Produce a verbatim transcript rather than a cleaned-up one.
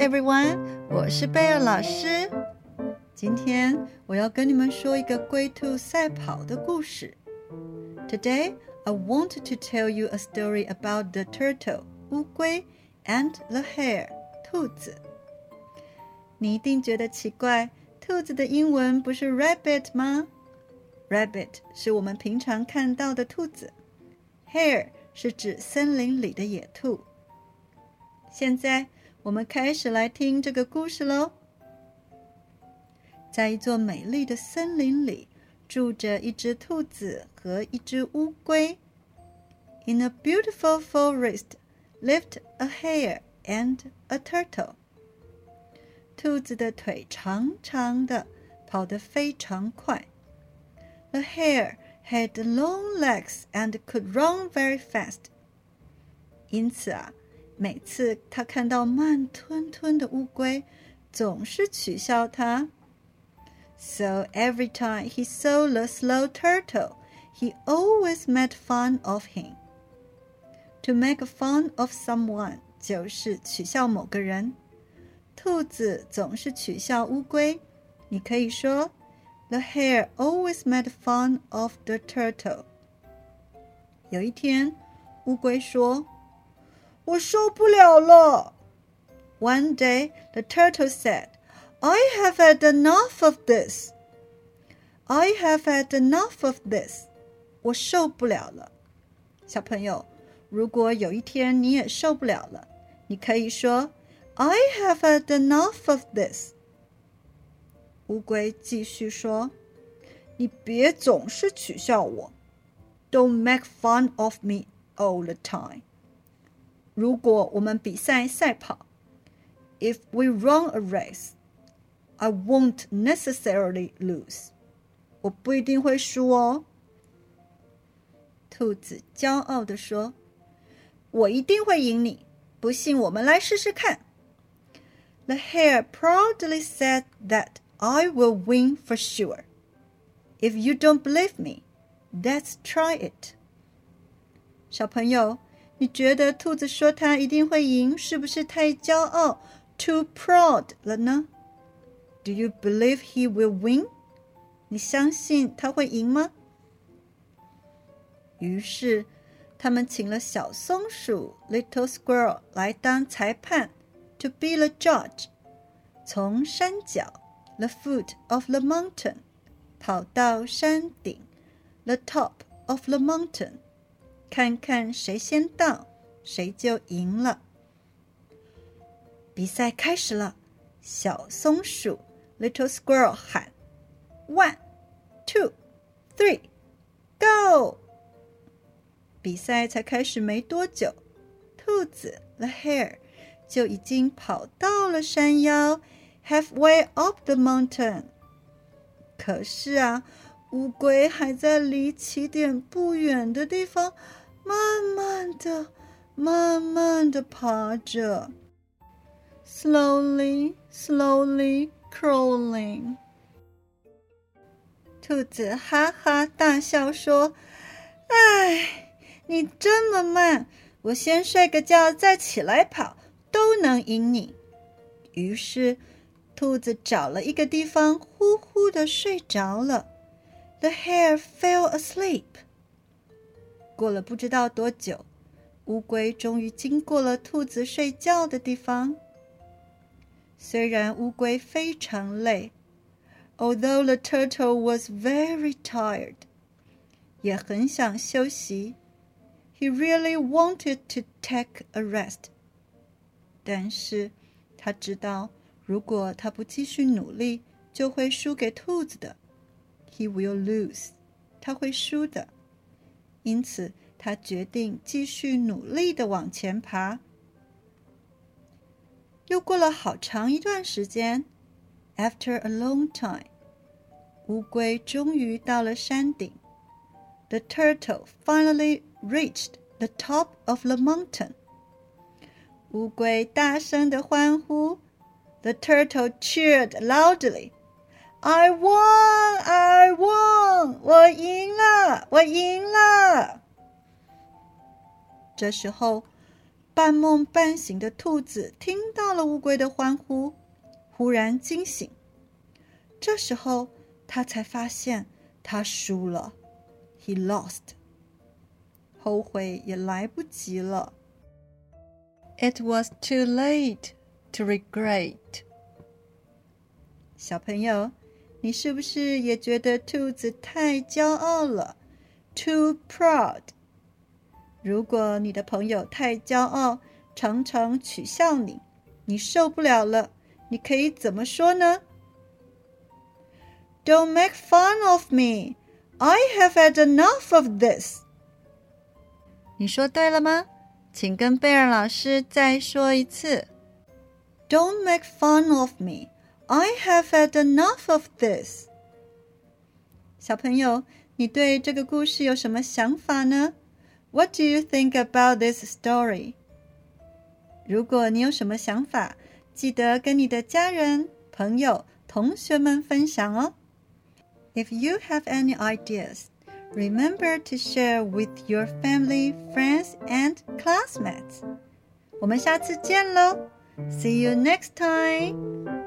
everyone， 我是貝爾老師。今天我要跟你們說一個龜兔賽跑的故事。Today, I want to tell you a story about the turtle, 烏龜 and the hare, 兔子。你一定覺得奇怪，兔子的英文不是 rabbit 嗎？ Rabbit 是我們平常看到的兔子， hare 是指森林裡的野兔。現在我們開始來聽這個故事嘍。在一座美麗的森林裡，住着一隻兔子和一隻烏龜。In a beautiful forest lived a hare and a turtle. 兔子的腿長長的，跑得非常快。The hare had long legs and could run very fast. 因此啊，每次他看到慢吞吞的烏龜，總是取笑它。So every time he saw the slow turtle, he always made fun of him. To make fun of someone 就是取笑某個人。兔子總是取笑烏龜，你可以說 The hare always made fun of the turtle. 有一天，烏龜說我受不了了。One day, the turtle said, I have had enough of this. I have had enough of this. 我受不了了。小朋友，如果有一天你也受不了了，你可以說 I have had enough of this. 烏龜繼續說，你別總是取笑我。Don't make fun of me all the time. 如果我們比賽賽跑 If we run a race, I won't necessarily lose. 我不一定會輸哦。兔子驕傲地說，我一定會贏你，不信我們來試試看。The hare proudly said that I will win for sure. If you don't believe me, let's try it. 小朋友，你覺得兔子說他一定會贏，是不是太驕傲 too proud 了呢？ Do you believe he will win? 你相信他會贏嗎？於是他們請了小松鼠 Little Squirrel 來當裁判 to be the judge. 從山腳 the foot of the mountain 跑到山頂 the top of the mountain.看看誰先到，誰就贏了。比賽開始了，小松鼠 Little Squirrel 喊 One, two, three, go! 比賽才開始沒多久，兔子 The hare 就已經跑到了山腰 halfway up the mountain。可是啊，烏龜還在離起點不遠的地方慢慢的慢慢的爬着 Slowly, slowly crawling. 兔子哈哈大笑說，唉，你這麼慢，我先睡個覺再起來跑都能贏你。於是兔子找了一個地方呼呼的睡着了。 The hare fell asleep.過了不知道多久，烏龜終於經過了兔子睡覺的地方。雖然烏龜非常累 ，although the turtle was very tired， 也很想休息 ，he really wanted to take a rest。但是他知道，如果他不繼續努力，就會輸給兔子的 ，he will lose， 他會輸的。因此，他決定繼續努力地往前爬。又過了好長一段時間 ，After a long time， 烏龜終於到了山頂。The turtle finally reached the top of the mountain。烏龜大聲地歡呼 ，The turtle cheered loudly。I won! I won! 我贏了！我贏了！這時候， 半夢半醒的兔子聽到了烏龜的歡呼，忽然驚醒。這時候，他才發現他輸了。He lost. 後悔也來不及了。It was too late to regret. 小朋友，你是不是也覺得兔子太驕傲了？ Too proud. 如果你的朋友太驕傲，常常取笑你，你受不了了，你可以怎麼說呢？ Don't make fun of me. I have had enough of this. 你說對了嗎？請跟貝爾老師再說一次。Don't make fun of me. I have had enough of this. 小朋友，你對這個故事有什麼想法呢？ What do you think about this story? 如果你有什麼想法，記得跟你的家人、朋友、同學們分享哦。If you have any ideas, remember to share with your family, friends, and classmates. 我們下次見嘍！See you next time!